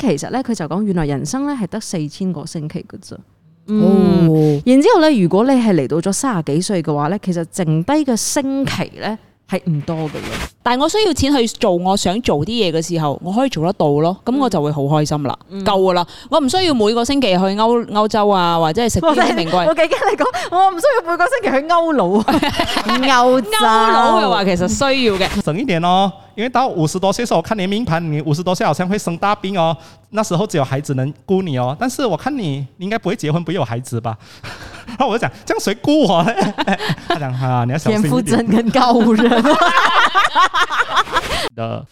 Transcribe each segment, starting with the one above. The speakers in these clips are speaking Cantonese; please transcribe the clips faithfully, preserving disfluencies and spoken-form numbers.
其實咧佢就講原來人生咧係得四千個星期嘅啫。嗯，哦、然之後咧，如果你係嚟到咗三十幾歲嘅話咧，其實剩低嘅星期咧係唔多嘅咯。 但係我需要錢去做我想做啲嘢嘅時候，我可以做得到咯，咁我就會好開心啦，嗯、夠噶啦，我唔需要每個星期去歐歐洲啊，或者係食啲名貴。 我幾驚你講，我唔需要每個星期去歐佬啊，歐洲歐佬嘅話其實需要嘅， 省一點哦，因為到五十多歲時候，我看你命盤，你五十多歲好像會生大病哦，那時候只有孩子能顧你哦，但是我看你，你應該不會結婚，不會有孩子吧？然後我就講，這樣誰顧我呢？他講啊，你要小心一點。 田馥甄跟高人的。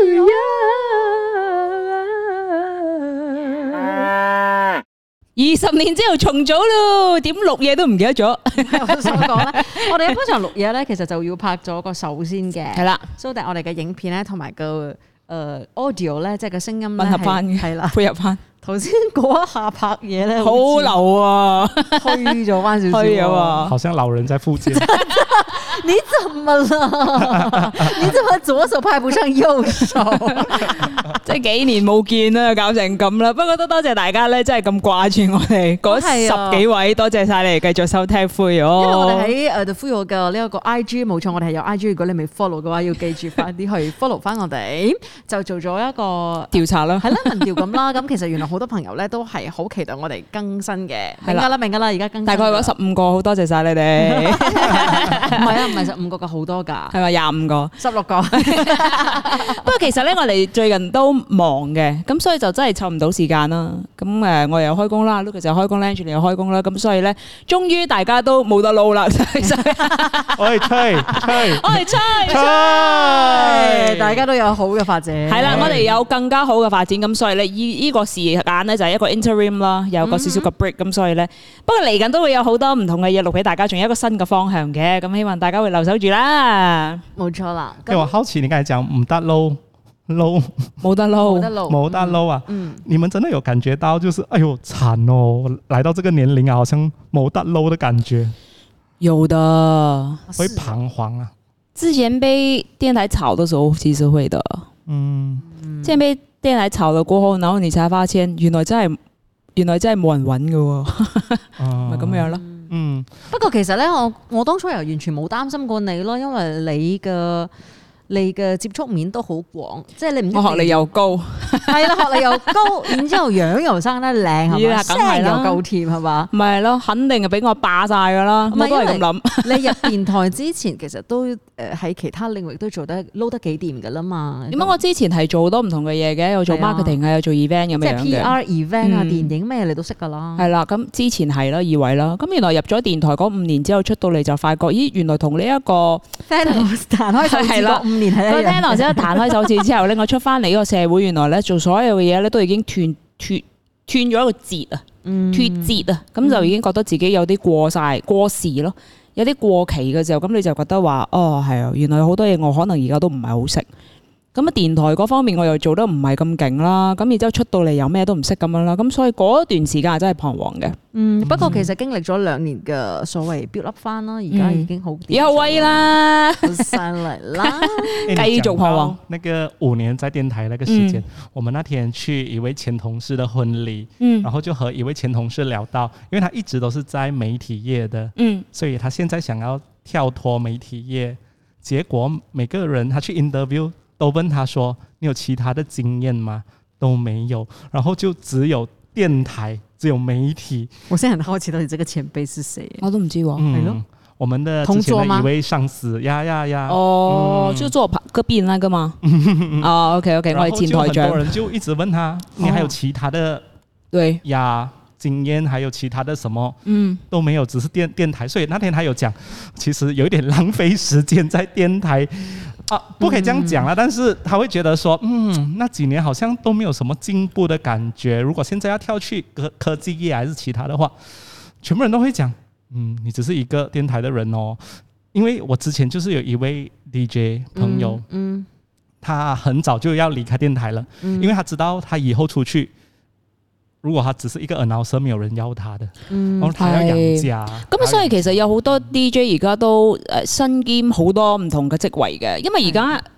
二十年之後重組咯，點錄嘢都唔記得咗。 我想講咧，我哋一般上錄嘢咧，其實就要拍咗個手先嘅， 係啦。 所以我哋嘅影片咧，同埋個誒 audio 咧，即係個聲音吻合翻嘅，係啦，配合翻。頭先嗰一下拍嘢咧，好流啊， 虛咗翻少少， 虛咗啊， 好像老人在附近。 你怎麼了？你怎麼左手拍不上右手？ 即係幾年冇見啦，搞成咁啦。不過都多謝大家咧，真係咁掛住我哋嗰十幾位，多謝晒你哋繼續收聽 Fuyoh。因為我哋喺誒 The Fuyoh 嘅呢一個 I G 冇錯，我哋係有 I G。如果你未 follow 嘅話，要記住快啲去 follow 翻我哋。就做咗一個調查啦， 係啦，民調咁啦。咁其實原來好多朋友咧都係好期待我哋更新嘅。明㗎啦，明㗎啦，而家更新。 大概嗰十五個，好多謝晒你哋。 唔係啊，唔係十五個嘅好多㗎， 係咪廿五個、 十六個？ 不過其實咧，我哋最近都忙嘅，咁所以就真係湊唔到時間啦。咁誒，我又開工啦 ，Lucas 又開工 ，Angeline 又開工啦。咁所以咧，終於大家都冇得撈啦。 我係吹吹， 我係吹吹，大家都有好嘅發展。 係啦，我哋有更加好嘅發展。咁所以咧，依依個時間咧就係一個 interim 啦，有個少少嘅 break。咁所以咧，不過嚟緊都會有好多唔同嘅嘢錄俾大家，仲有一個新嘅方向嘅。咁希望大家會留守住啦。 冇錯啦。 因為我好奇你剛才講唔得撈。low 冇得撈， 冇得撈， 冇得撈啊！ 嗯， 你們真的有感覺到，就是哎呦慘哦，來到這個年齡啊，好像冇得撈的感覺。 有的， 會彷徨啊。 之前被電台炒的時候，其實會的。嗯，即係被電台炒了過後，然後你才發現，原來真係原來真係冇人揾噶，咪咁樣咯。 嗯，不過其實咧，我我當初又完全冇擔心過你咯，因為你嘅。你嘅接觸面都好廣，即係你唔， 我學歷又高， 係啦，學歷又高，然之後樣又生得靚，係嘛，聲又夠甜，係嘛， 唔係咯，肯定係俾我霸晒噶啦，我都係咁諗。 你入電台之前，其實都誒喺其他領域都做得撈得幾掂噶啦嘛。 點解我之前係做好多唔同嘅嘢嘅，有做 marketing 啊，有做 event 咁樣嘅， 即係 P R event 啊、電影咩你都識噶啦。 係啦，咁之前係啦，二位啦，咁原來入咗電台嗰五年之後出到嚟就發覺，咦，原來同呢一個 Thanos 彈開手指嗰五年係一樣。 聽落之後彈開手指之後咧，我出翻嚟呢個社會，原來咧做所有嘅嘢咧都已經斷斷斷咗一個節啊，脫節啊，咁就已經覺得自己有啲過晒過時咯，有啲過期嘅時候，咁你就覺得話哦係啊，原來好多嘢我可能而家都唔係好識。咁啊，電台嗰方面我又做得唔係咁勁啦，咁然之後出到嚟又咩都唔識咁樣啦，咁所以嗰段時間係真係彷徨嘅。 嗯，不過其實經歷咗兩年嘅所謂 build up 翻啦，而家已經好以後威啦， 上嚟啦， 繼續彷徨。 那個五年在電台那個時間，嗯、我們那天去一位前同事的婚禮，嗯，然後就和一位前同事聊到，因為他一直都是在媒體業的，嗯，所以他現在想要跳脫媒體業，結果每個人他去 interview。都問他說：你有其他的經驗嗎？都沒有，然後就只有電台，只有媒體。 我現在很好奇到底這個前輩是誰？ 我都唔知喎。 係咯，我們的之前的一位上司呀呀呀。 哦，嗯、就坐隔壁那個嗎？哦 OK OK， 我係前台長。 很多人就一直問他：你還有其他的對呀經驗，還有其他的什麼？嗯，都沒有，只是電電台。所以那天他有講，其實有一點浪費時間在電台。啊，不可以這樣講啦，但是他會覺得說，嗯，那幾年好像都沒有什麼進步的感覺。如果現在要跳去科科技業還是其他的話，全部人都會講，嗯，你只是一個電台的人哦。因為我之前就是有一位 D J 朋友，嗯，嗯他很早就要離開電台了，嗯，因為他知道他以後出去。如果他只是一個 announcer，沒有人要他的，嗯，然後他要養家。 咁所以其實有好多 D J 而家都誒身兼好多唔同嘅職位嘅，因為而家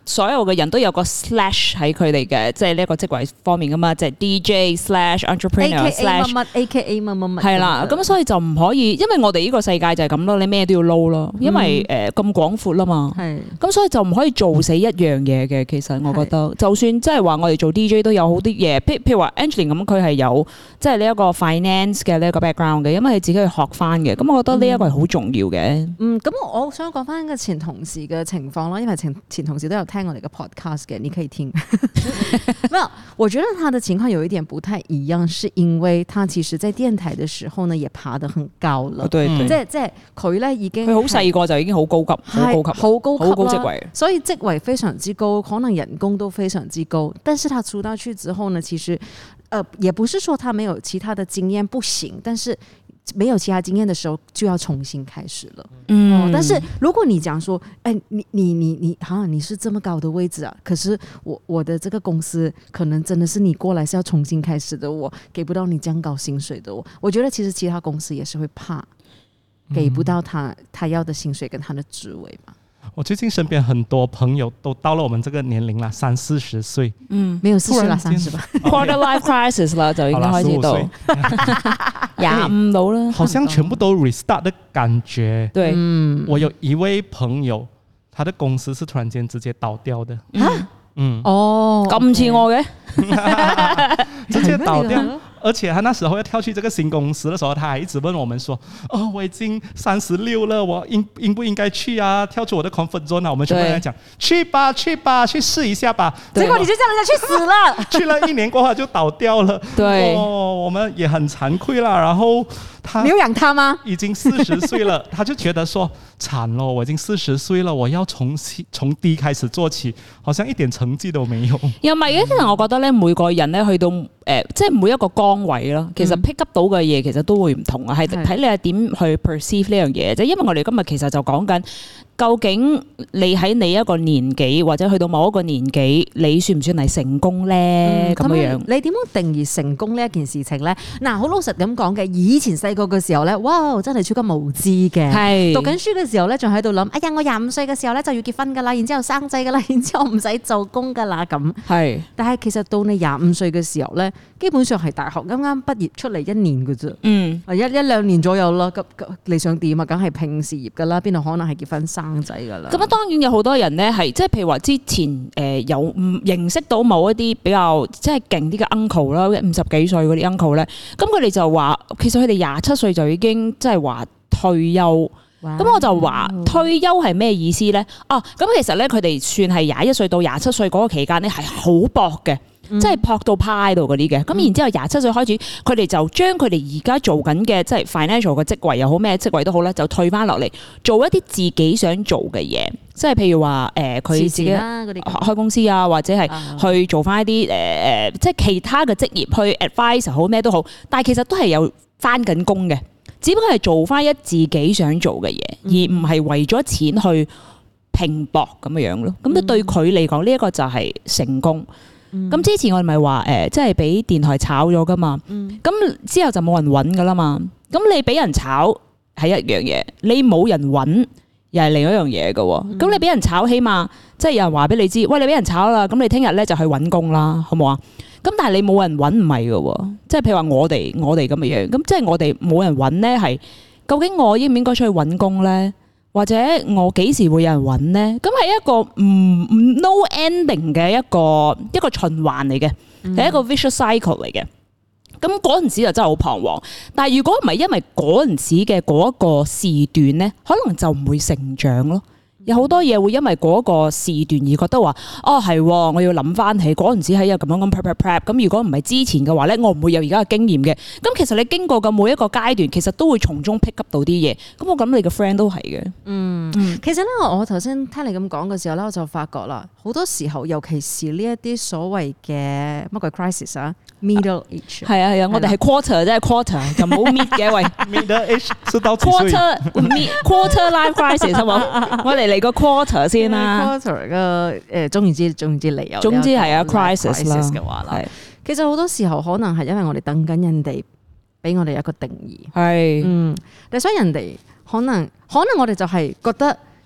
所有嘅人都有個 slash 喺佢哋嘅，即係呢一個職位方面噶嘛，就係 D J slash entrepreneur slash 乜乜 A K A 乜乜乜係啦，咁所以就唔可以，因為我哋呢個世界就係咁咯，你咩都要撈咯，因為誒咁廣闊啦嘛， 係咁所以就唔可以做死一樣嘢嘅。其實我覺得，就算即係話我哋做 D J 都有好啲嘢，譬譬如話 Angeline 咁，佢係有即係呢一個 finance 嘅呢一個 background 嘅，因為佢自己去學翻嘅，咁我覺得呢一個係好重要嘅。 嗯，咁我想講翻個前同事嘅情況啦，因為前前同事都有聽我哋嘅 podcast 嘅，你可以聽。沒有，我覺得他的情況有一點不太一樣，是因為他其實在電台的時候呢，也爬得很高了。 對對， 即係即係佢咧已經佢好細個就已經好高級，好高級， 好高級， 好高職位， 所以職位非常之高，可能人工都非常之高。但是他出道去之後呢，其實，呃，也不是說他沒有其他的經驗不行，但是沒有其他經驗的時候就要重新開始了。嗯，哦、但是如果你講說，哎，你你你你，哈，你是這麼高的位置啊，可是我我的這個公司可能真的是你過來是要重新開始的，我給不到你這樣高薪水的我，我覺得其實其他公司也是會怕，給不到他他要的薪水跟他的職位嘛。 我最近身邊很多朋友都到了我們這個年齡啦，三四十歲， 嗯，沒有四十啦，三十吧 ，quarter life crisis 啦，就已經開始到廿五到啦， 好像全部都 restart 的感覺。 對， 嗯，我有一位朋友，他的公司是突然間直接倒掉的， 嗯， 嗯， 哦，咁似我嘅， 直接倒掉。而且他那時候要跳去這個新公司的時候，他還一直問我們說：哦，我已經三十六了，我應應不應該去啊？跳出我的 comfort zone 啊？我們全部人講去吧，去吧，去試一下吧。 結果你就叫人家去死了， 去了一年過後就倒掉了。 對， 哦，我們也很慚愧啦。然後他， 你有養他嗎？ 已經四十歲了，他就覺得說慘咯，我已經四十歲了，我要從從低開始做起，好像一點成績都沒有。 又唔係嘅，其實我覺得咧，每個人咧去到誒、呃，即係每一個崗位咯，其實 pick up 到嘅嘢其實都會唔同啊，係睇你係點去 perceive 呢樣嘢啫。因為我哋今日其實就講緊究竟你喺你一個年紀或者去到某一個年紀，你算唔算係成功咧？咁、嗯、樣樣， 你點樣定義成功呢一件事情咧？嗱，好老實咁講嘅，以前細個嘅時候咧，哇，真係超級無知嘅。係讀緊書嘅時候咧，仲喺度諗，哎呀，我廿五歲嘅時候咧就要結婚噶啦，然之後生仔噶啦，然之後唔使做工噶啦咁。係，但係其實到你廿五歲嘅時候咧，基本上係大學啱啱畢業出嚟一年嘅啫。嗯，一一兩年左右啦。咁你想點啊？梗係拼事業噶啦，邊度可能係結婚生仔噶啦？ 咁啊，當然有好多人咧係即係譬如話之前誒有唔認識到某一啲比較即係勁啲嘅 uncle 啦，五十幾歲嗰啲 uncle 咧，咁佢哋就話其實佢哋廿七歲就已經即係話退休。咁、wow. 我就話退休係咩意思咧？哦，咁其實咧佢哋算係廿一歲到廿七歲嗰個期間咧係好搏嘅。即係撲到派度嗰啲嘅，咁、嗯、然之後廿七歲開始，佢哋就將佢哋而家做緊嘅即係 financial 嘅職位又好咩職位都好咧，就退翻落嚟做一啲自己想做嘅嘢，即係譬如話誒佢自己開公司啊，或者係去做翻一啲誒誒即係其他嘅職業去 advise 好咩都好，但係其實都係有翻緊工嘅，只不過係做翻一自己想做嘅嘢、嗯，而唔係為咗錢去拼搏咁樣樣咯。咁、嗯、對佢嚟講呢一個就係成功。咁、嗯、之前我哋咪話誒，即係俾電台炒咗噶嘛，咁、嗯、之後就冇人揾噶啦嘛。咁你俾人炒係一樣嘢，你冇人揾又係另一樣嘢嘅。咁、嗯、你俾人炒，起碼即係有人話俾你知，喂，你俾人炒啦，咁你聽日咧就去揾工啦，好冇啊？咁但係你冇人揾唔係嘅，即係譬如話我哋我哋咁嘅樣，咁即係我哋冇人揾咧，係究竟我應唔應該出去揾工咧？或者我幾時會有人揾呢？咁係一個唔唔 no ending 嘅一個一個循環嚟嘅，係、嗯、一個 vicious cycle 嚟嘅。咁嗰陣時就真係好彷徨。但係如果唔係因為嗰陣時嘅嗰一個時段呢，可能就唔會成長咯。有好多嘢會因為嗰個時段而覺得話，哦係，我要諗翻起嗰陣時喺有咁樣咁 prep prep prep。咁如果唔係之前嘅話咧，我唔會有而家嘅經驗嘅。咁其實你經過嘅每一個階段，其實都會從中 pick up 到啲嘢。咁我諗你個 friend 都係嘅。嗯， 其實咧，我頭先聽你咁講嘅時候咧，我就發覺啦，好多時候，尤其是呢一啲所謂嘅乜鬼 crisis 啊 ，middle age。係啊係啊，我哋係 quarter 啫 quarter 就冇 mid 嘅喂。 middle age 是到幾歲 ？quarter mid quarter life crisis 係冇？我哋嚟個 quarter 先啦。 quarter 嘅誒，總言之總言之嚟有。 總之係啊 crisis 啦嘅話啦。其實好多時候可能係因為我哋等緊人哋俾我哋一個定義。係。嗯，但係所以人哋可能可能我哋就係覺得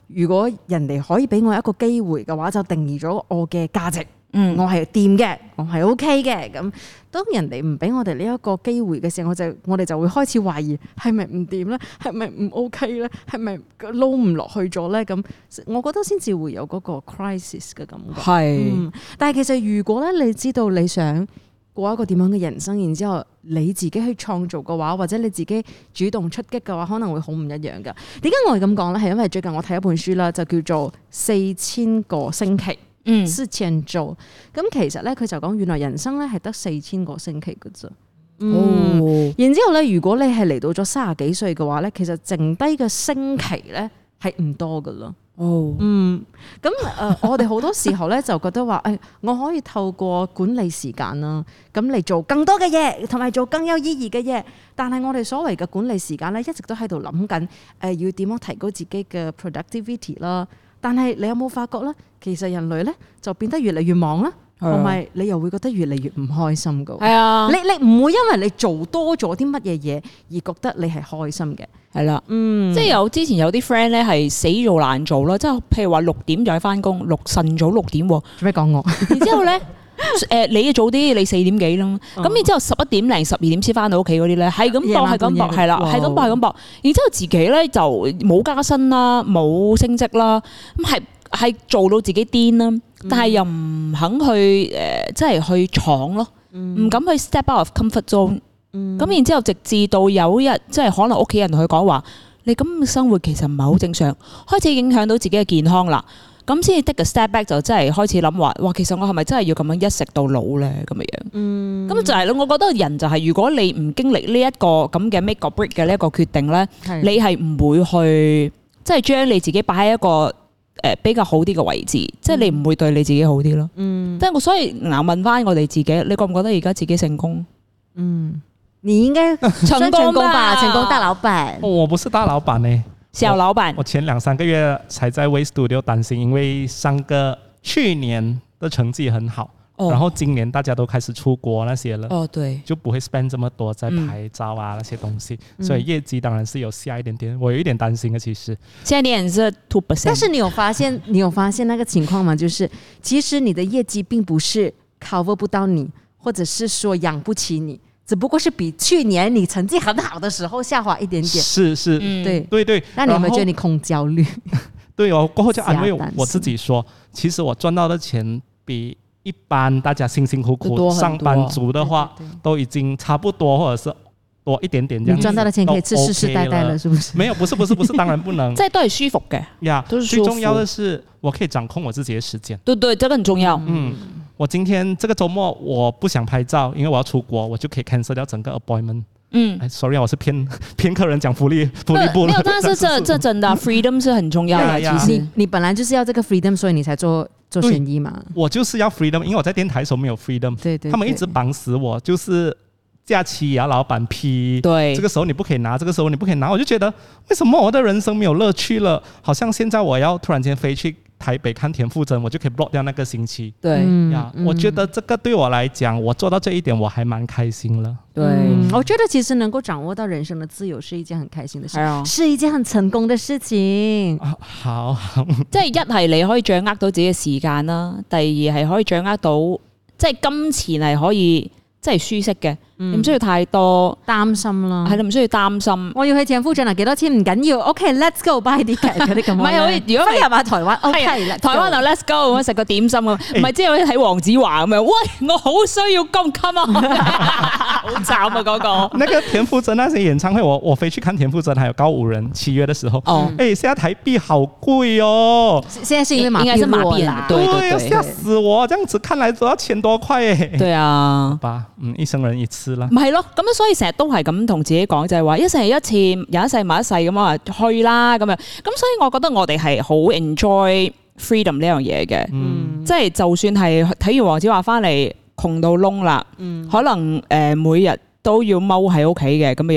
如果人哋可以俾我一個機會嘅話，就定義咗我嘅價值。 嗯， 我係掂嘅，我係 OK 嘅。咁當人哋唔俾我哋呢一個機會嘅時候，我就我哋就會開始懷疑係咪唔掂咧？係咪唔 OK 咧？係咪撈唔落去咗咧？咁我覺得先至會有嗰個 crisis 嘅感覺。 係、 嗯，但係其實如果咧你知道你想過一個點樣嘅人生，然之後你自己去創造嘅話，或者你自己主動出擊嘅話，可能會好唔一樣㗎。點解我係咁講咧？係因為最近我睇一本書啦，就叫做《四千個星期》。嗯，四千周，咁其實咧佢就講原來人生咧係得四千個星期嘅啫。嗯，哦、然之後咧，如果你係嚟到咗三十幾歲嘅話咧，其實剩低嘅星期咧係唔多噶啦。哦，嗯，咁誒、呃，我哋好多時候咧就覺得話，誒、哎，我可以透過管理時間啦，咁嚟做更多嘅嘢，同埋做更有意義嘅嘢。但係我哋所謂嘅管理時間咧，一直都喺度諗緊，誒、呃，要點樣提高自己嘅 productivity 啦。但係你有冇發覺咧？其實人類咧就變得越嚟越忙啦，同埋你又會覺得越嚟越唔開心噶。係啊，你你唔會因為你做多咗啲乜嘢嘢而覺得你係開心嘅。係啦，嗯， 即係有之前有啲 friend 咧係死做難做啦，即係譬如話六點就去翻工，六晨早六點，做咩講我？ 然之後咧。誒、呃，你早啲，你四點幾啦，咁、嗯、然之後十一點零、十二點先翻到屋企嗰啲咧，係咁搏，係咁搏，係啦，係咁搏，係咁搏。然之後自己咧就冇加薪啦，冇升職啦，咁係係做到自己癲啦，但係又唔肯去誒、呃，即係去闖咯，唔、嗯、敢去 step out of comfort zone。咁、嗯、然之後直至到有一日，即係可能屋企人同佢講話，你咁嘅生活其實唔係好正常，開始影響到自己嘅健康啦。咁先至 take a step back 就真係開始諗話，哇！其實我係咪真係要咁樣一食到老咧？咁樣樣，嗯，咁就係咯。我覺得人就係、是、如果你唔經歷呢一個咁嘅 make or break 嘅呢一個決定咧，你係唔會去即係將你自己擺喺一個誒、呃、比較好啲嘅位置，即係、嗯、你唔會對你自己好啲咯。嗯，即係我所以嗱問翻我哋自己，你覺唔覺得而家自己成功？ 嗯，你應該成功吧？成功大老闆、 哦，我不是大老闆呢。 小老闆， 我前兩三個月才在 Way Studio 擔心，因為上個去年的成績很好，哦、然後今年大家都開始出國那些了，哦對，就不會 spend 這麼多在拍照啊、嗯、那些東西，所以業績當然是有下一點點，我有一點擔心嘅其實。 現在你是 two percent， 但是你有發現你有發現那個情況嗎？就是其實你的業績並不是 cover 不到你，或者是說養不起你。只不過是比去年你成績很好的時候下滑一點點， 是是， 嗯、對對對。 那你有沒有覺得你空焦慮？ 對哦，過後就安慰我自己說，其實我賺到的錢比一般大家辛辛苦苦上班族的話，對對對都已經差不多，或者是多一點點這樣。 你賺到的錢可以吃世世代代了，是不是？ 沒有，不是不是不是，當然不能。 即係都係舒服嘅呀，最重要的是我可以掌控我自己的時間。 對對，這個很重要。嗯。 我今天這個周末我不想拍照，因為我要出國，我就可以 cancel 掉整個 appointment。嗯，哎 ，sorry， 我是騙騙客人講福利福利部了。沒有， 但是這這真的 freedom 是很重要的。其實你你本來就是要這個 freedom，所以你才做做生意嘛。 我就是要 freedom，因為我在電台的時候沒有 freedom。對，對對，他們一直綁死我，就是假期也要老闆批。對，這個時候你不可以拿，這個時候你不可以拿，我就覺得為什麼我的人生沒有樂趣了？好像現在我要突然間飛去台北看田馥甄，我就可以 block 掉那個星期。對呀，嗯、我覺得這個對我來講，我做到這一點，我還蠻開心了。 對、嗯，我覺得其實能夠掌握到人生的自由，是一件很開心的事，嗯、是一件很成功的事情。啊、 好， 即係一係你可以掌握到自己嘅時間啦，第二係可以掌握到即係金錢係可以即係舒適嘅。嗯、你唔需要太多擔心啦， 係你唔需要擔心。 我要去田馥甄啊，幾多錢唔緊要。OK，let's go buy 啲劇嗰啲咁。唔係，如果你入埋台灣 ，OK， 台灣就 let's go， 食個點心咁。唔係即係好似睇黃子華咁樣，喂，我好需要金金啊，好慘啊嗰個。 那個田馥甄那些演唱會，我我飛去看田馥甄，還有告五人七月的時候。哦，誒，現在台幣好貴哦。 現在是因為馬幣落啦， 對對對， 嚇死我！這樣子看來都要千多塊誒。 對啊， 好吧，嗯，一生人一次啦。 唔係咯，咁樣所以成日都係咁同自己講，就係話一世一次，有一世埋一世咁啊，去啦咁樣。咁所以我覺得我哋係好 enjoy freedom 呢樣嘢嘅，嗯、即係就算係睇完黃子華翻嚟窮到窿啦，嗯、可能誒每日都要踎喺屋企嘅咁樣樣，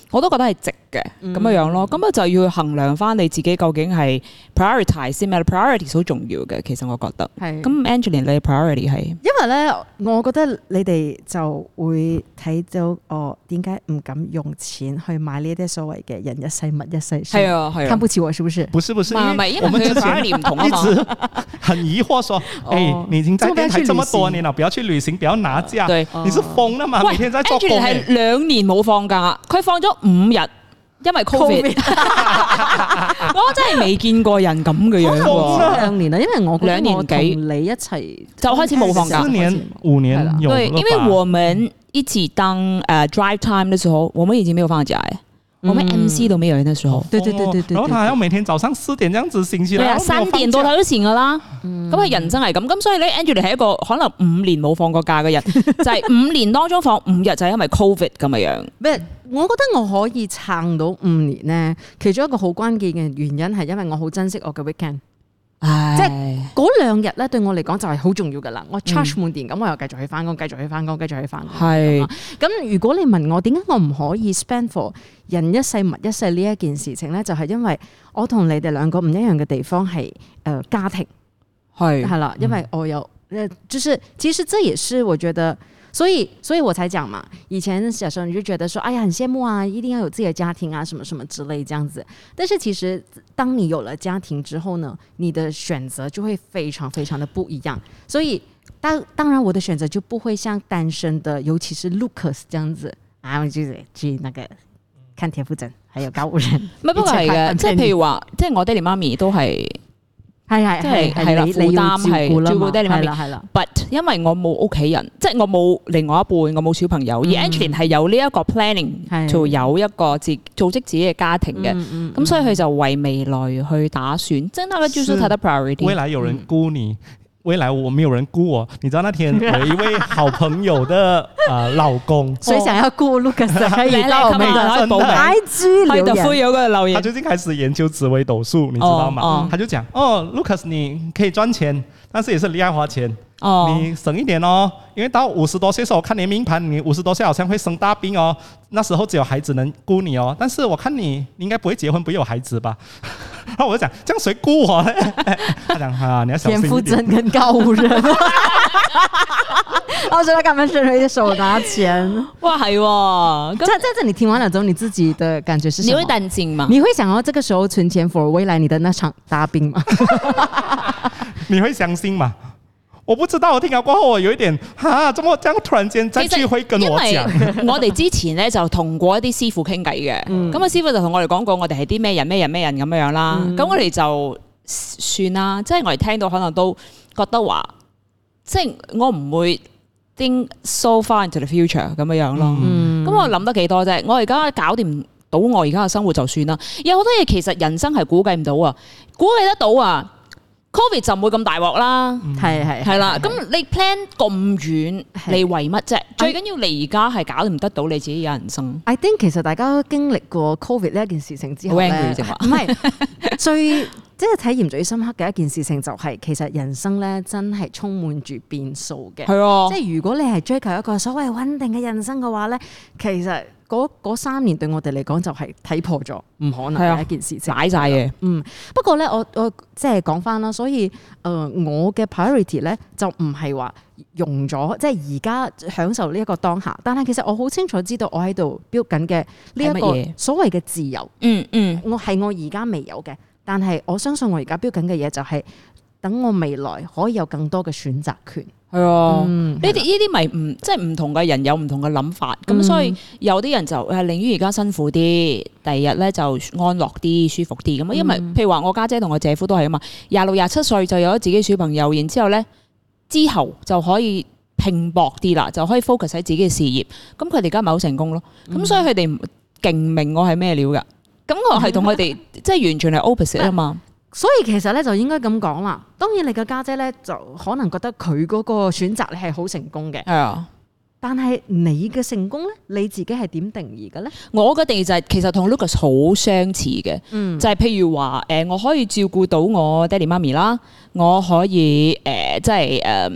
我都覺得係值嘅咁樣樣咯。咁啊就要去衡量翻你自己究竟係 prioritize 先咩 ？priority 好重要嘅，其實我覺得。係。咁 Angeline 你 priority 係？ 因為咧，我覺得你哋就會睇到哦，點解唔敢用錢去買呢啲所謂嘅人一世物一世？ 係啊係啊。 看不起我是不是？ 不是不是， 唔係因為佢 priority 唔同啊嘛。 一直很疑惑說，誒，你已經在電台這麼多年了，不要去旅行，不要拿假，你是瘋了嘛？每天在做工。 係兩年冇放假，佢放咗五日。因為 Covid，我真係未見過人咁嘅樣喎。 兩年啦，因為我兩年幾你一齊就開始冇放假， 四年五年有了吧？ 對，因為我們一起當誒、uh, drive time 嘅時候，我們已經沒有放假誒。我們 M C 都沒有那時候， 對對對對對， 然後他還要每天早上四點這樣子醒起來， 對啊，三點多他都醒噶啦，咁係人生係咁，咁所以咧 Angeline 係一個可能五年冇放過假嘅人，就係五年當中放五日就係因為 Covid 咁嘅樣。 咩？我覺得我可以撐到五年咧，其中一個好關鍵嘅原因係因為我好珍惜我嘅 weekend。即係嗰兩日咧，對我嚟講就係好重要噶啦。我 charge 滿電，咁、嗯、我又繼續去翻工，繼續去翻工，繼續去翻工。係咁，如果你問我點解我唔可以 spend for 人一世物一世呢一件事情咧，就係、是、因為我同你哋兩個唔一樣嘅地方係誒、呃、家庭係係啦，因為我有誒，就是其實這也是我覺得。所以，所以我才講嘛。以前小時候你就覺得說，哎呀，很羨慕啊，一定要有自己的家庭啊，什麼什麼之類這樣子。但是其實，當你有了家庭之後呢，你的選擇就會非常非常的不一樣。所以，當當然我的選擇就不會像單身的，尤其是 Lucas 這樣子啊，我就是去那個看田馥甄，還有高吾人。 唔不過係嘅，即係譬如話，即係我爹哋媽咪都係。 係係即係係啦，負擔係照顧爹哋媽咪。 係啦 But 因為我冇屋企人，即係我冇另外一半，我冇小朋友。嗯、而 Angeline 係有呢一個 planning，就有一個自組織自己嘅家庭嘅。咁、嗯嗯、所以佢就為未來去打算。真係那個就是他的 priority。 未來有人顧你。嗯未來我沒有人顧我，你知道那天有一位好朋友的呃老公， 誰想要顧 Lucas 可以到我們的 I G 留言。 他最近開始研究紫微斗數，你知道嗎？哦哦、他就講哦 ，Lucas 你可以賺錢，但是也是厲害花錢。哦，你省一點哦，因為到五十多歲時候，我看你命盤，你五十多歲好像會生大病哦，那時候只有孩子能顧你哦。但是我看你，你應該不會結婚，不會有孩子吧？然後我就講，這樣誰顧我呢？他講啊，你要小心一點。田馥甄跟高吾人， 我覺得他們是一手拿錢， 哇，係喎。 在在這你聽完了之後，你自己的感覺是什麼？ 你會擔心嗎？ 你會想要這個時候存錢 for 未來你的那場大病嗎？ 你會相信嗎？我不知道，我聽咗過後，我有一點哈，怎麼這樣突然間再聚會跟我講？ 我哋之前咧就同過一啲師傅傾偈嘅，咁、嗯、啊師傅就同我哋講過，我哋係啲咩人咩人咩人咁樣樣啦。咁、嗯、我哋就算啦，即係我哋聽到可能都覺得話，即係我唔會 think so far into the future 咁樣樣咯。咁、嗯、我諗得幾多啫？我而家搞掂到我而家嘅生活就算啦。有好多嘢其實人生係估計唔到啊，估計得到啊。Covid 就唔會咁大鑊啦，係係係啦。咁你 plan 咁遠，你為乜啫？最緊要你而家係搞唔得到你自己嘅人生。 I think 其實大家都經歷過 Covid 呢一件事情之後咧，唔係最即係體驗最深刻嘅一件事情就係、是、其實人生咧真係充滿住變數嘅。係啊，即係如果你係追求一個所謂穩定嘅人生嘅話咧，其實嗰三年對我哋嚟講就係睇破咗，唔可能係一件事情，擺晒嘅。嗯，不過咧，我我即係講翻啦，所以誒、呃，我嘅 priority 咧就唔係話用咗，即係而家享受呢一個當下。但係其實我好清楚知道我喺度標緊嘅呢一個所謂嘅自由。嗯嗯，我係我而家未有嘅，但係我相信我而家標緊嘅嘢就係等我未來可以有更多嘅選擇權。係啊，呢啲呢啲咪唔即係唔同嘅人有唔同嘅諗法，咁、嗯、所以有啲人就係寧願而家辛苦啲，第二日咧就安樂啲、舒服啲咁啊。因為譬如話我家姐同我姐夫都係啊嘛，廿六廿七歲就有咗自己小朋友，然之後咧之後就可以拼搏啲啦，就可以 focus 喺自己嘅事業。咁佢哋而家咪好成功咯。咁、嗯、所以佢哋勁明我係咩料噶。咁我係同佢哋即係完全係 opposite 啊嘛。所以其實咧就應該咁講啦。當然你嘅家姐咧就可能覺得佢嗰個選擇你係好成功嘅，係啊。但係你嘅成功咧，你自己係點定義嘅咧？我嘅定義就係其實同 Lucas 好相似嘅，嗯，就係、是、譬如話誒，我可以照顧到我爹哋媽咪啦，我可以誒，即係誒。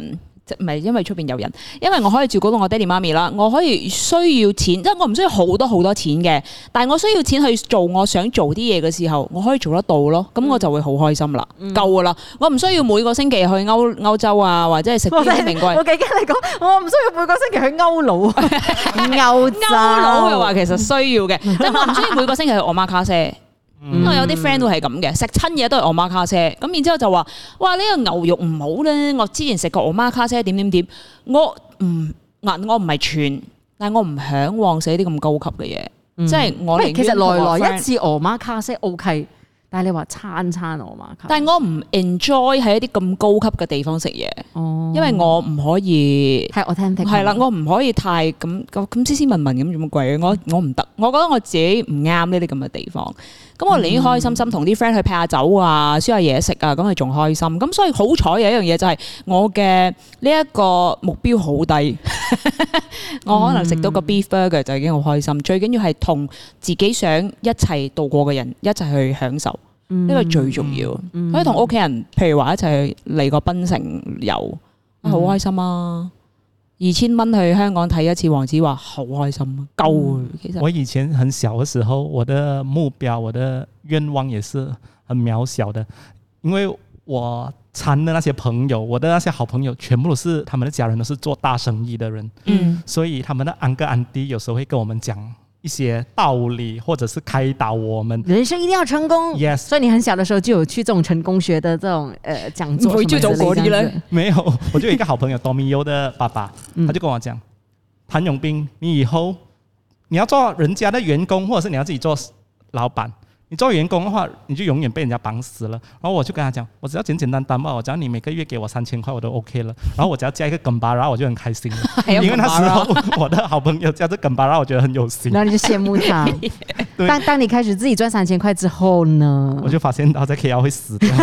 即唔係因為出邊有人，因為我可以照顧到我爹哋媽咪啦，我可以需要錢，即係我唔需要好多好多錢嘅，但係我需要錢去做我想做啲嘢嘅時候，我可以做得到咯，咁我就會好開心啦，嗯、夠噶啦，我唔需要每個星期去歐歐洲啊，或者係食啲名貴。 我幾驚你講，我唔需要每個星期去歐佬，歐洲歐佬嘅話其實需要嘅，即係我唔需要每個星期去我媽卡西。嗯、我有啲 friend 都係咁嘅，食親嘢都係我媽卡車，咁然之後就話：哇呢、呢個牛肉唔好咧！我之前食過我媽卡車點點點，我唔嗱我唔係串，但係我唔嚮往食啲咁高級嘅嘢，嗯、即係我其實來來一次我媽卡車 OK， 但係你話餐餐我媽卡，但係我唔 enjoy 喺一啲咁高級嘅地方食嘢，哦、因為我唔可以係我聽聽係啦，我唔可以太咁咁斯斯文文咁咁貴，我我唔得，我覺得我自己唔啱呢啲咁嘅地方。咁我寧願開開心心同啲 friend 去劈下酒啊，燒下嘢食啊，咁係仲開心。咁所以好彩有一樣嘢就係我嘅呢一個目標好低，我可能食到個 beef burger 就已經好開心。最緊要係同自己想一齊度過嘅人一齊去享受，呢個最重要。可以同屋企人，譬如話一齊去嚟個檳城遊，好開心啊！二千蚊去香港睇一次黃子華，好開心，夠啊！其實我以前很小嘅時候，我的目標、我的願望也是很渺小的，因為我參的那些朋友，我的那些好朋友，全部都是他們的家人都是做大生意的人，嗯，所以他們的安哥安弟有時候會跟我們講一些道理，或者是開導我們人生一定要成功。Yes， 所以你很小的時候就有去這種成功學的這種呃講座， 會去走國力了？ 沒有，我就有一個好朋友 Domio 的爸爸，他就跟我講，譚詠麟，你以後你要做人家的員工，或者是你要自己做老闆。你做員工的話，你就永遠被人家綁死了。然後我就跟他講，我只要簡簡單單嘛，我只要你每個月給我三千塊，我都 OK 了。然後我只要加一個梗巴，然後我就很開心了。因為那時候我的好朋友加這梗巴，然後我覺得很有心。 然後你就羨慕他。當當你開始自己賺三千塊之後呢， 我就發現到在 K L 會死掉。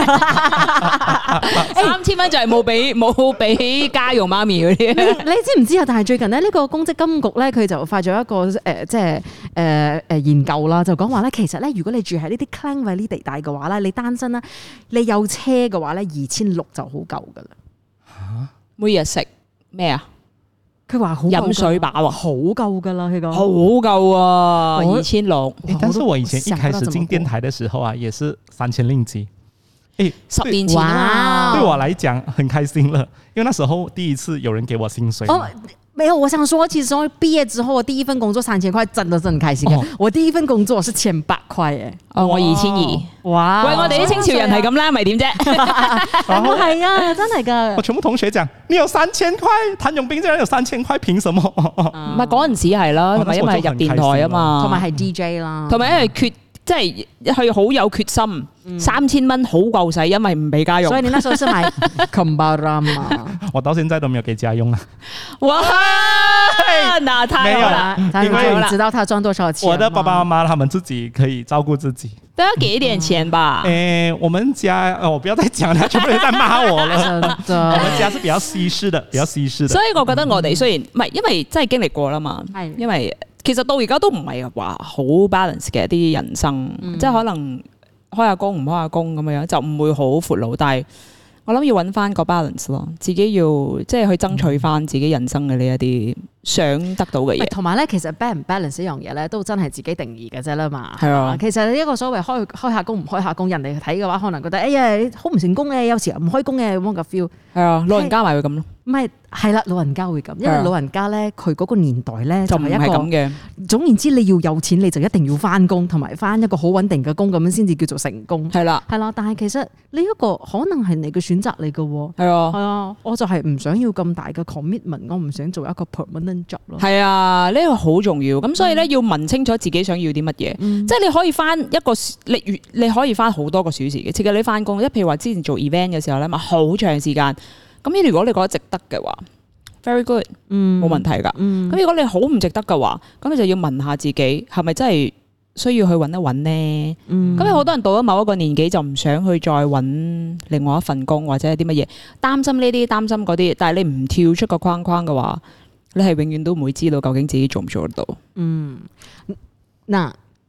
三千蚊就係冇俾冇俾家用媽咪嗰啲。 你你知唔知啊？但係最近咧，呢、這個公積金局咧，佢就發咗一個誒、呃，即係誒誒研究啦，就講話咧，其實咧，如果你住喺呢啲 Klang Valley 地帶嘅話咧，你單身啦，你有車嘅話咧，二千六就好夠噶啦。 嚇！ 每日食咩啊？ 佢話好飲水飽啊， 好夠噶啦，佢講好夠啊，二千六。 但是我以前一開始進電台嘅時候啊，也是三千令吉。誒， 十年前啊， 對我來講很開心了，因為那時候第一次有人給我薪水。 哦，沒有，我想說，其實我畢業之後，我第一份工作三千塊，真的真的很開心嘅。哦、我第一份工作是千八塊誒， 哦，我二千二。 哇！ 喂，我哋啲清朝人係咁啦，咪點啫？ 係啊，真係噶。 我全部同學講，你有三千塊，譚詠麟竟然有三千塊，憑什麼？ 唔係嗰陣時係啦，同埋因為入電台啊嘛， 同埋係 D J 啦， 同埋因為缺。即係佢好有決心，嗯、三千蚊好夠使，因為唔俾家用。所以你那時候是買 Combarama 我到現在都沒有給家用啊！ 哇，那太好啦！ 因為你知道他賺多少錢？ 我的爸爸媽媽他們自己可以照顧自己， 都要給一點錢吧？ 誒、欸，我們家，我不要再講啦，全部人在罵我了。我們家是比較西式的，比較西式的。 所以我覺得我哋雖然唔係，因為真係經歷過啦嘛，係因為。其實到而家都唔係話好 balance 嘅一啲人生，嗯、即係可能開下工唔開下工咁樣，就唔會好闊佬。但係我諗要揾翻個 balance 咯，自己要即係去爭取翻自己人生嘅呢一啲想得到嘅嘢。 同埋咧，其實 balance 唔 balance 呢樣嘢咧，都真係自己定義嘅啫啦嘛。 係啊， 其實一個所謂開開下工唔開下工，人哋睇嘅話，可能覺得哎呀你好唔成功嘅，有時唔開工嘅咁個 feel。係啊，老人家咪會咁咯。唔係， 係啦，老人家會咁，因為老人家咧，佢嗰個年代咧就係一個咁嘅。 總言之，你要有錢，你就一定要翻工，同埋翻一個好穩定嘅工，咁樣先至叫做成功。 係啦， 係啦。但係其實呢一個可能係你嘅選擇嚟嘅喎。 係啊， 係啊，我就係唔想要咁大嘅 commitment，我唔想做一個 permanent job 咯。 係啊，呢個好重要。咁所以咧，要問清楚自己想要啲乜嘢。嗯、即係你可以翻一個，你你可以翻好多個小時嘅。設計你翻工，即係譬如話之前做 event 嘅時候咧，咪好長時間。咁如果你覺得值得嘅話 ，very good，嗯，冇問題噶。咁、嗯、如果你好唔值得嘅話，咁你就要問下自己，係咪真係需要去揾一揾呢？咁有好多人到咗某一個年紀就唔想去再揾另外一份工或者係啲乜嘢，擔心呢啲，擔心嗰啲。但係你唔跳出個框框嘅話，你係永遠都唔會知道究竟自己做唔做得到。 嗯，嗱。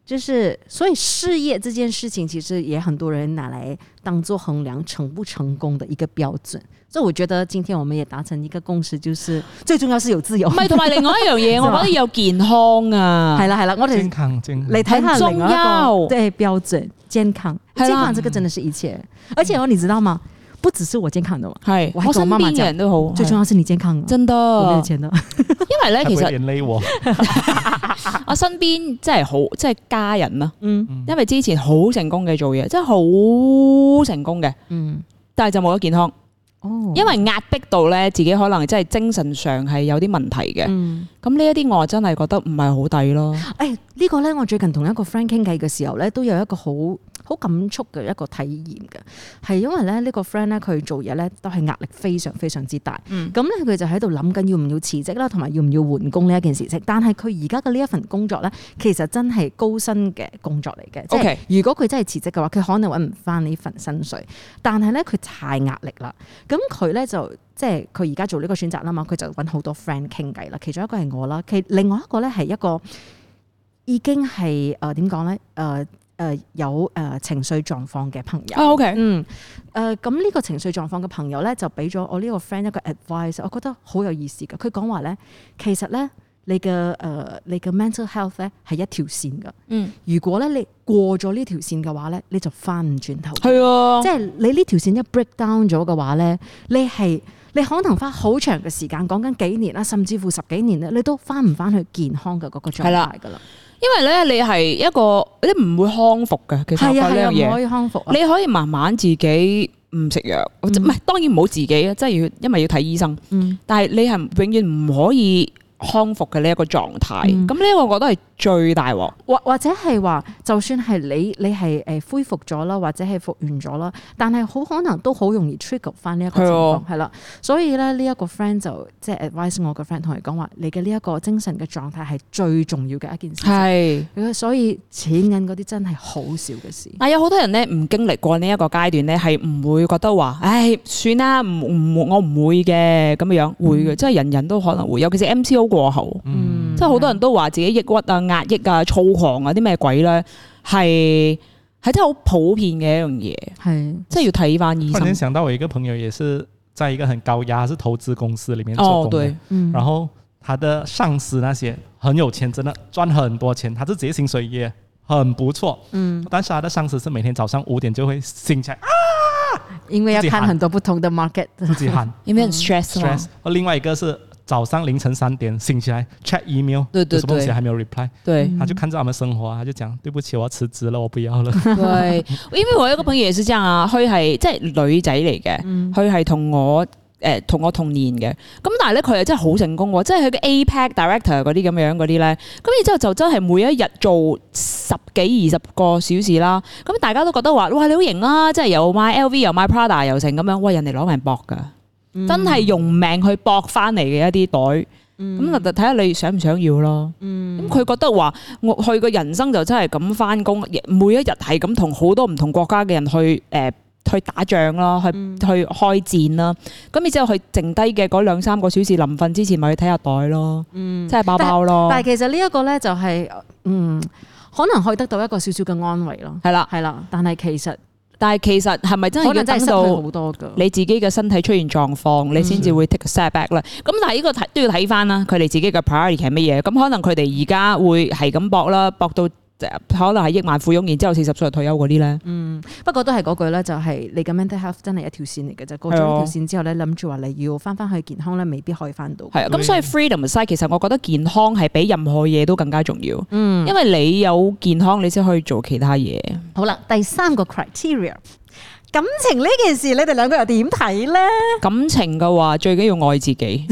就是所以事業這件事情，其實也很多人拿來當做衡量成不成功的一個標準。所以我覺得今天我們也達成一個共識，就是最重要是有自由。 唔係，同埋另外一樣嘢，我覺得有健康啊。 係啦係啦，我哋健康健康， 你睇下另外一個對標準，健康健康這個真的是一切。而且哦，你知道嗎？不只是我健康的嘛，係我身邊嘅人都好，最重要是你健康啊，真的。我沒有錢的，因為咧其實連累我，我身邊真係好，即係家人啦，嗯，因為之前好成功嘅做嘢，真係好成功嘅，嗯，但係就冇咗健康。哦，因為壓迫到咧，自己可能真係精神上係有啲問題嘅。嗯，咁呢一啲我真係覺得唔係好抵咯。誒、哎，這個、呢個咧，我最近同一個 friend 傾偈嘅時候咧，都有一個好好感觸嘅一個體驗嘅，係因為咧呢、這個 friend 咧佢做嘢咧都係壓力非常非常之大。嗯，咁咧佢就喺度諗緊要唔要辭職啦，同埋要唔要換工呢一件事情。但係佢而家嘅呢一份工作咧，其實真係高薪嘅工作嚟嘅。即係如果佢真係辭職嘅話，佢可能揾唔翻呢份薪水。但係咧佢太壓力啦。咁佢咧就即係佢而家做呢個選擇啦嘛，佢就揾好多 friend 傾偈啦。其中一個係我啦，其另外一個咧係一個已經係誒點講咧誒誒有誒、呃、情緒狀況嘅朋友。哦、OK，嗯誒咁呢個情緒狀況嘅朋友咧就俾咗我呢個 friend 一個 advice，我覺得好有意思嘅。佢講話咧，其實咧你嘅誒、呃、你嘅 mental health 咧係一條線㗎。嗯，如果咧你過咗呢條線嘅話咧，你就翻唔轉頭。係啊，即係你呢條線一 break down 咗嘅話咧，你係你可能花好長嘅時間，講緊幾年啦，甚至乎十幾年咧，你都翻唔翻去健康嘅嗰個狀態㗎啦。因為咧，你係一個你唔會康復嘅，其實係啊係啊，唔可以康復啊。你可以慢慢自己唔食藥，唔、嗯、係當然唔好自己啊，即係要因為要睇醫生。嗯，但係你係永遠唔可以康復嘅呢一個狀態。咁呢個我覺得係最大鑊，或或者係話，就算係你你係誒恢復咗啦，或者係復原咗啦，但係好可能都好容易 trigger 翻呢一個情況，係啦。所以咧呢一個 friend 就即係 advise 我個 friend 同佢講話，你嘅呢一個精神嘅狀態係最重要嘅一件事。係，所以錢銀嗰啲真係好少嘅事。但有好多人咧唔經歷過呢一個階段咧，係唔會覺得話，唉，算啦，唔唔我唔會嘅咁樣，會嘅，即係人人都可能會，尤其是 M C O 過後，嗯，即係好多人都話自己抑鬱啊。壓抑啊、躁狂啊啲咩鬼咧，係係真係好普遍嘅一樣嘢，係即係要睇翻醫生。突然想到我一個朋友，也是在一個很高壓，是投資公司裏面做工的，哦對嗯、然後他的上司那些很有錢，真的賺很多錢，他自己薪水也很不錯，嗯，但是他的上司是每天早上五點就會醒起來啊，因為要看很多不同的 market， 自己喊，因為很 stress 嘛。而另外一個是早上凌晨三點醒起來 check email， 對對對，有什麼東西還沒有 reply， 對，他就看着他們生活，他就講對不起，我要辭職了，我不要了。對，因為我有一個朋友也是這樣啊，佢係即係女仔嚟嘅，佢係同我誒同我同年嘅，咁但係咧佢係真係好成功喎，即係佢嘅 A P E C director 嗰啲咁樣嗰啲咧，咁然之後就真係每一日做十幾二十個小時啦，咁大家都覺得話哇你好型啊，即係又買 L V 又買 Prada 又成咁樣，喂人哋攞命搏㗎。嗯、真係用命去搏翻嚟嘅一啲袋，咁就睇下你想唔想要咯。咁、嗯、佢覺得話，我佢個人生就真係咁翻工，每一日係咁同好多唔同國家嘅人去誒、呃、去打仗啦，去、嗯、去開戰啦。咁然之後佢剩低嘅嗰兩三個小時臨瞓之前，咪去睇下袋咯，即係包包咯。但係其實呢一個咧就係、是，嗯，可能可以得到一個少少嘅安慰咯。係啦，係啦，但係其實。但係其實係咪真係要等到你自己嘅身體出現狀況，你先至會 take a step back 咧？咁但係呢個睇都要睇翻啦，佢哋自己嘅 priority 係乜嘢？咁可能佢哋而家會係咁搏啦，搏到可能係億萬富翁，然之後四十歲退休嗰啲咧。嗯，不過都係嗰句咧，就係、是、你嘅 mental health 真係一條線嚟嘅啫。過咗呢條線之後咧，諗住話你要翻翻去健康咧，未必可以翻到。係啊，咁所以 freedom side 其實我覺得健康係比任何嘢都更加重要。嗯，因為你有健康，你先可以做其他嘢。好啦，第三個 criteria。感情呢件事，你哋兩個又點睇咧？感情嘅話，最緊要愛自己。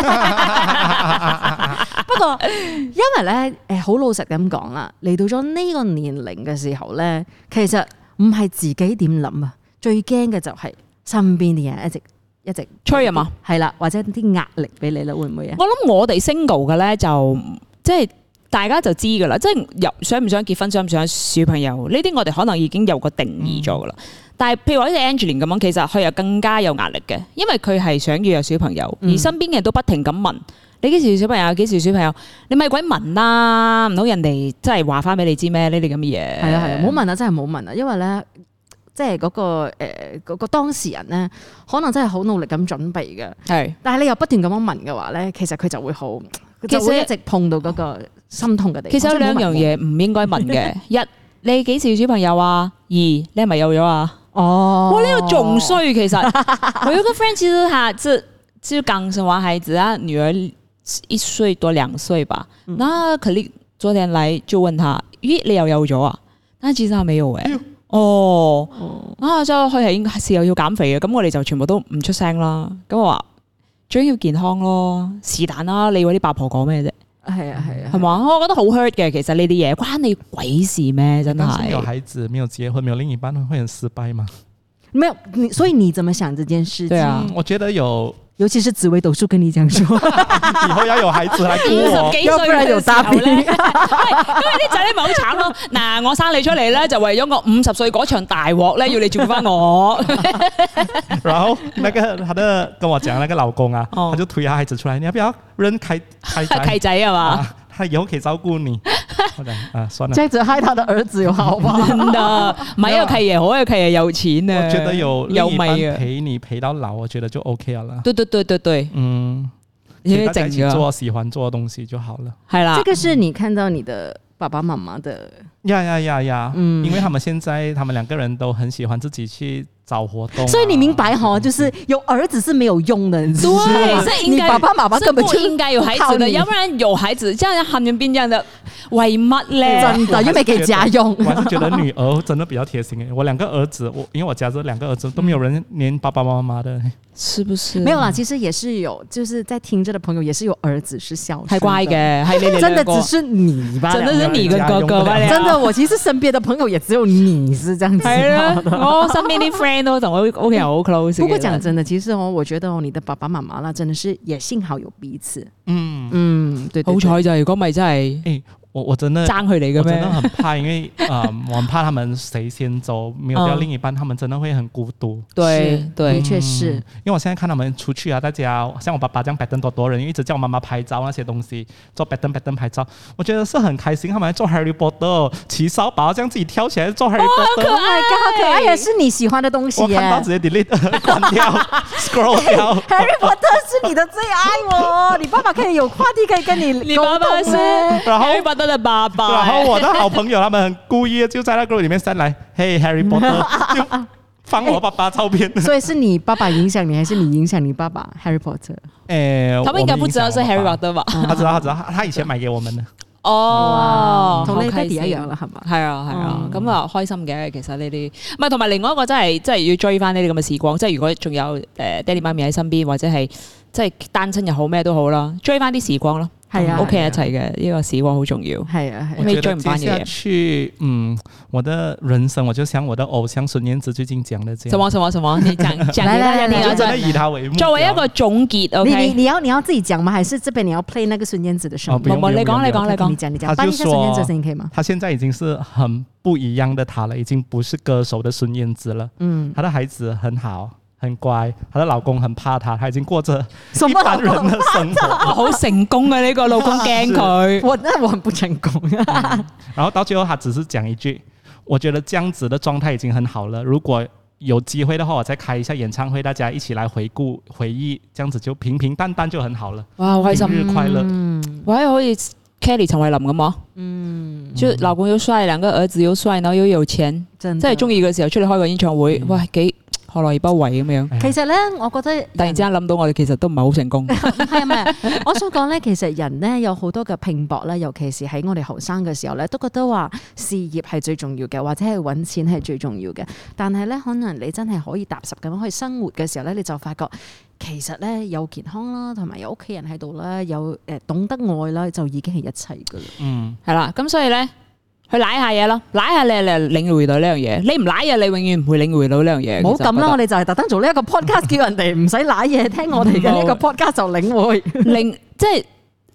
不過，因為咧，誒，好老實咁講啦，嚟到咗呢個年齡嘅時候咧，其實唔係自己點諗啊，最驚嘅就係身邊啲人一直一直催啊嘛，係啦，或者啲壓力俾你啦，會唔會啊？我諗我哋 single 嘅咧，就即係大家就知㗎啦，即係有想唔想結婚，想唔想小朋友呢啲，我哋可能已經有個定義咗㗎啦。嗯、但係譬如話好似 Angeline 咁樣，其實佢又更加有壓力嘅，因為佢係想要有小朋友，而身邊嘅人都不停咁問。你幾時小朋友？幾時小朋友？你咪鬼問啦！唔好人哋真係話翻俾你知咩？呢啲咁嘅嘢。係啊係啊，唔好問啊！真係唔好問啊！因為咧，即係嗰個誒嗰、呃嗰個當事人咧，可能真係好努力咁準備嘅。係，但係你又不斷咁樣問嘅話咧，其實佢就會好，就會一直碰到嗰個心痛嘅地方。 其實有兩樣嘢唔應該問嘅：一，你幾時小朋友啊？二，你係咪有咗啊？哦，哇！呢、呢個仲衰，其實我有個 friend 其實他就就剛生完孩子啊，女兒。一歲多兩歲吧，嗯、那可能昨天來就問他，咦，你又有咗啊？但其實他沒有誒、欸，哦，哦啊，之後佢係應該係又要減肥嘅，咁我哋就全部都唔出聲啦。咁我話最緊要健康咯，是但啦，你嗰啲八婆講咩啫？係啊係啊，係嘛？我覺得好 hurt 嘅，其實呢啲嘢關你鬼事咩？真係。 有孩子沒有結婚，沒有另一半，會很失敗嗎？ 沒有，你所以你怎麼想這件事情？ 對啊，我覺得有。 尤其是紫微斗數跟你講說， 以後要有孩子來顧我， 要不然有答應。因為啲仔女咪好慘咯。嗱，我生你出嚟咧，就為咗我五十歲嗰場大鑊咧，要你照顧翻我。 然後那個他的跟我講那個老公啊，哦、他就推下孩子出來，你要不要認開開仔？ 開仔係嘛、啊？ 他以後可以照顧你。啊，算了， 這樣子害他的兒子有好嗎？ 真的，買一個契爺好，一個契爺有錢啊！ 我覺得有另一半陪你陪到老，我覺得就 OK 了。 對對對對對， 嗯，因為大家一起做喜歡做的東西就好了。係啦， 這個是你看到你的爸爸媽媽的呀呀呀呀，嗯，因為他們現在他們兩個人都很喜歡自己去找活動、啊， 所以你明白哈，就是有兒子是沒有用的，對， 是應該爸爸媽媽根本就應該有孩子的，要不然有孩子，這樣漢語變這樣的，為乜咧？ 真的又沒給家用。 我還是覺得女兒真的比較貼心誒，我兩個兒子，我因為我家這兩個兒子都沒有人黏爸爸媽媽的， 是不是？ 沒有啦，其實也是有，就是在聽着的朋友也是有兒子是孝順， 太乖嘅， 真的只是你吧？ 真的是你跟哥哥吧？ 真的，我其實身邊的朋友也只有你是這樣子。係啊， 我身邊啲 friend 都同我屋企人好 close。 不過講真的，其實哦，我覺得哦，你的爸爸媽媽啦，真的是也幸好有彼此。嗯嗯，對， 好彩就如果咪真係， 誒，我我真的爭佢哋嘅咩？ 我真的很怕，因為啊、呃，我很怕他們誰先走，沒有掉另一半，他們真的會很孤獨。 對對， 的確是。 因為我現在看他們出去啊，大家像我爸爸這樣擺燈多多人，一直叫我媽媽拍照那些東西，做擺燈擺燈拍照，我覺得是很開心。他們做 Harry Potter，騎掃把這樣自己跳起來做 Harry Potter， 好可愛，好可愛，也是你喜歡的東西。 我看到直接 delete 關掉，scroll 掉。 Harry Potter 是你的最愛哦，你爸爸可以有話題可以跟你。 你爸爸是 Harry Potter 的爸爸。 然後我的好朋友他們很故意就在那個裏面上來，嘿 Harry Potter，就放我爸爸照片。 所以是你爸爸影響你，還是你影響你爸爸 Harry Potter？ 誒， 他們應該不知道是 Harry Potter 吧？ 他知道，他知道，他以前買給我們的。 哦， 同你爹哋一樣啦，係嘛？ 係啊，係啊，咁啊開心嘅。其實呢啲唔係，同埋另外一個真係真係要追翻呢啲咁嘅時光。即係如果仲有誒爹哋媽咪喺身邊，或者係即係單親又好咩都好啦，追翻啲時光咯。係啊，屋企人一齊嘅呢個時光好重要。係啊， 我覺得接下去，嗯，我的人生我就像我的偶像孫燕姿最近講的這樣。 什麼什麼什麼？你講講來來來，你要真的以他為目標。 作為一個總結 ，OK？ 你你你要你要自己講嗎？還是這邊你要 play 那個孫燕姿的聲音？ 你講你講你講， 你講你講。他就說，孫燕姿的聲音可以嗎？ 他現在已經是很不一樣的他了，已經不是歌手的孫燕姿了。嗯，他的孩子很好。很乖，她的老公很怕她，她已經過着一般人的生活。 好成功啊！呢、這個老公驚佢， 我那我很不成功、 嗯。然後到最後，他只是講一句：我覺得這樣子的狀態已經很好了。如果有機會的話，我再開一下演唱會，大家一起來回顧回憶，這樣子就平平淡淡就很好了。 哇，好開心， 平日快樂。 嗯，哇，好似 Kelly 陳慧琳咁啊。嗯，就老公又帥，兩個兒子又帥，然後又有錢，真係中意嘅時候出嚟開個演唱會，嗯、哇幾〜何樂而不為咁樣？ 其實咧，我覺得突然之間諗到，我哋其實都唔係好成功。 係啊，唔係，我想講咧，其實人咧有好多嘅拼搏咧，尤其是喺我哋後生嘅時候咧，都覺得話事業係最重要嘅，或者係揾錢係最重要嘅。但係咧，可能你真係可以踏實咁去生活嘅時候咧，你就發覺其實咧有健康啦，同埋有屋企人喺度啦，有誒懂得愛啦，就已經係一切噶啦。嗯， 係啦，咁所以咧。去舐下嘢咯，舐下你嚟領會到呢樣嘢。你唔舐嘢，你永遠唔會領會到呢樣嘢。 唔好咁啦，我哋就係特登做呢一個 podcast，叫人哋唔使舐嘢，聽我哋嘅呢個 podcast 就領會。 領即係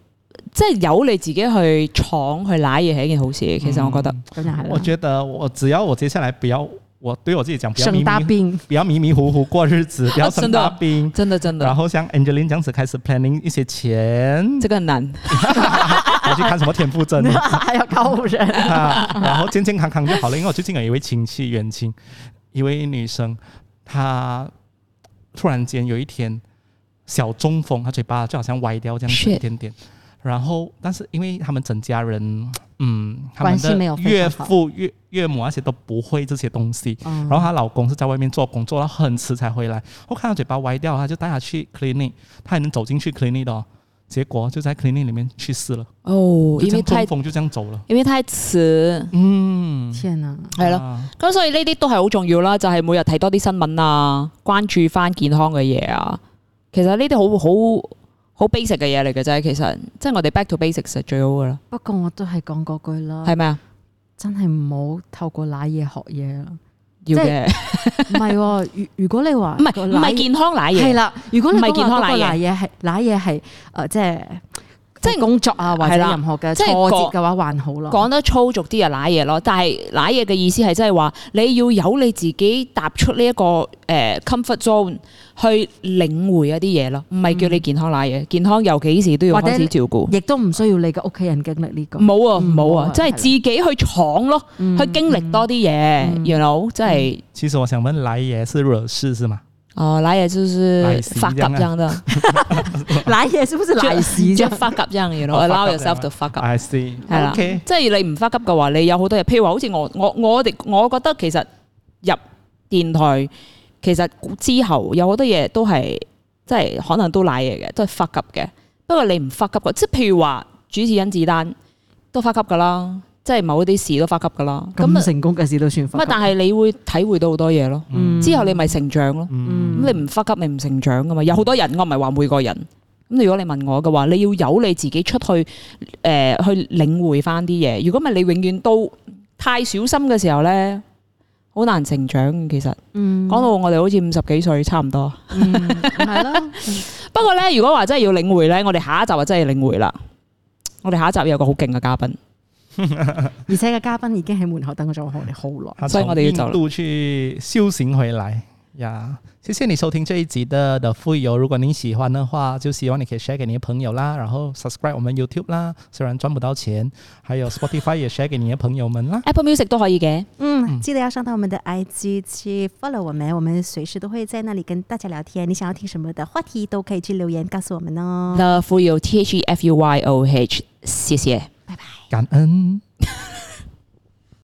即係由你自己去闖去揦嘢係一件好事。其實我覺得， 嗯、我覺得我只要我接下來不要。我對我自己講，不要迷生大病， 不要迷迷糊糊過日子，不要生大病， 真的真的。 然後像 Angeline 這樣子開始 planning 一些錢， 這個很難。 我去看什麼田馥甄， 還要高人、 啊，然後健健康康就好了。因為我最近有一位親戚遠親，一位女生，她突然間有一天小中風，她嘴巴就好像歪掉這樣子一點點。然後，但是因為他們整家人，嗯，他們的岳父、岳岳母那些都不會這些東西。嗯、然後她老公是在外面做工，做到很遲才回來。我看到嘴巴歪掉，他就帶她去 clinic， 他還能走進去 clinic 的、哦，結果就在 clinic 裡面去世了。 哦，因為太中風就這樣走了， 因為太遲。 嗯，天啊， 係咯。咁所以呢啲都係好重要啦，就係、是、每日睇多啲新聞啊，關注翻健康嘅嘢啊。其實呢啲好好。好 basic 嘅嘢嚟嘅啫，其實即係我哋 back to basics 係最好噶啦。 不過我都係講嗰句啦， 係咪啊？ 真係唔好透過瀨嘢學嘢啦。 要嘅， 唔係喎。如如果你話唔係唔係健康瀨嘢， 係啦。如果你唔係健康瀨嘢， 嘢係瀨嘢係誒，即係即係工作啊，或者任何嘅挫折嘅話，還好咯。講得粗俗啲就瀨嘢咯，但係瀨嘢嘅意思係即係話你要有你自己踏出呢一個誒 comfort zone。去領會一啲嘢咯，唔係叫你健康瀨嘢，健康有幾時都要開始照顧， 亦都唔需要你嘅屋企人經歷呢個。 冇啊冇啊，即係自己去闖咯，去經歷多啲嘢，you know，即係。 其實我想問，瀨嘢是惹事是嗎？ 哦，瀨嘢就是發鴿這樣的， 瀨嘢是不是瀨屎？ 即係發鴿這樣，you know，allow yourself to 發鴿。 I see， 係啦，即係你唔發鴿嘅話，你有好多嘢，譬如話好似我我我哋，我覺得其實入電台。其實之後有好多嘢都係即係可能都瀨嘢嘅，都係發急嘅。不過你唔發急嘅，即係譬如話主持甄子丹都發急噶啦，即係某啲事都發急噶啦。 咁成功嘅事都算發急。 但係你會體會到好多嘢咯。嗯、之後你咪成長咯。咁、嗯、你唔發急，你唔成長噶嘛。有好多人，我唔係話每個人。咁如果你問我嘅話，你要有你自己出去誒、呃、去領會翻啲嘢。如果唔係你永遠都太小心嘅時候咧。好難成長，其實，講、嗯、到我哋好似五十幾歲，差唔多，係咯、嗯。不過咧，如果話真係要領會咧，我哋下一集就真係領會啦。我哋下一集有個好勁嘅嘉賓， 而且個嘉賓已經喺門口等咗我哋好耐， 所以我哋要走啦。印度去修行回來呀。謝謝你收聽這一集的的富有，如果你喜歡的話，就希望你可以 share 給你的朋友啦，然後 subscribe 我們 YouTube 啦，雖然賺不到錢，還有 Spotify 也 share 給你的朋友們啦。 Apple Music 都可以嘅， 嗯，記得要上到我們的 I G 去 follow 我們，我們隨時都會在那裡跟大家聊天。你想要聽什麼的話題，都可以去留言告訴我們哦。 The 富有 T H E F U Y O H， 謝謝， 拜拜， 感恩。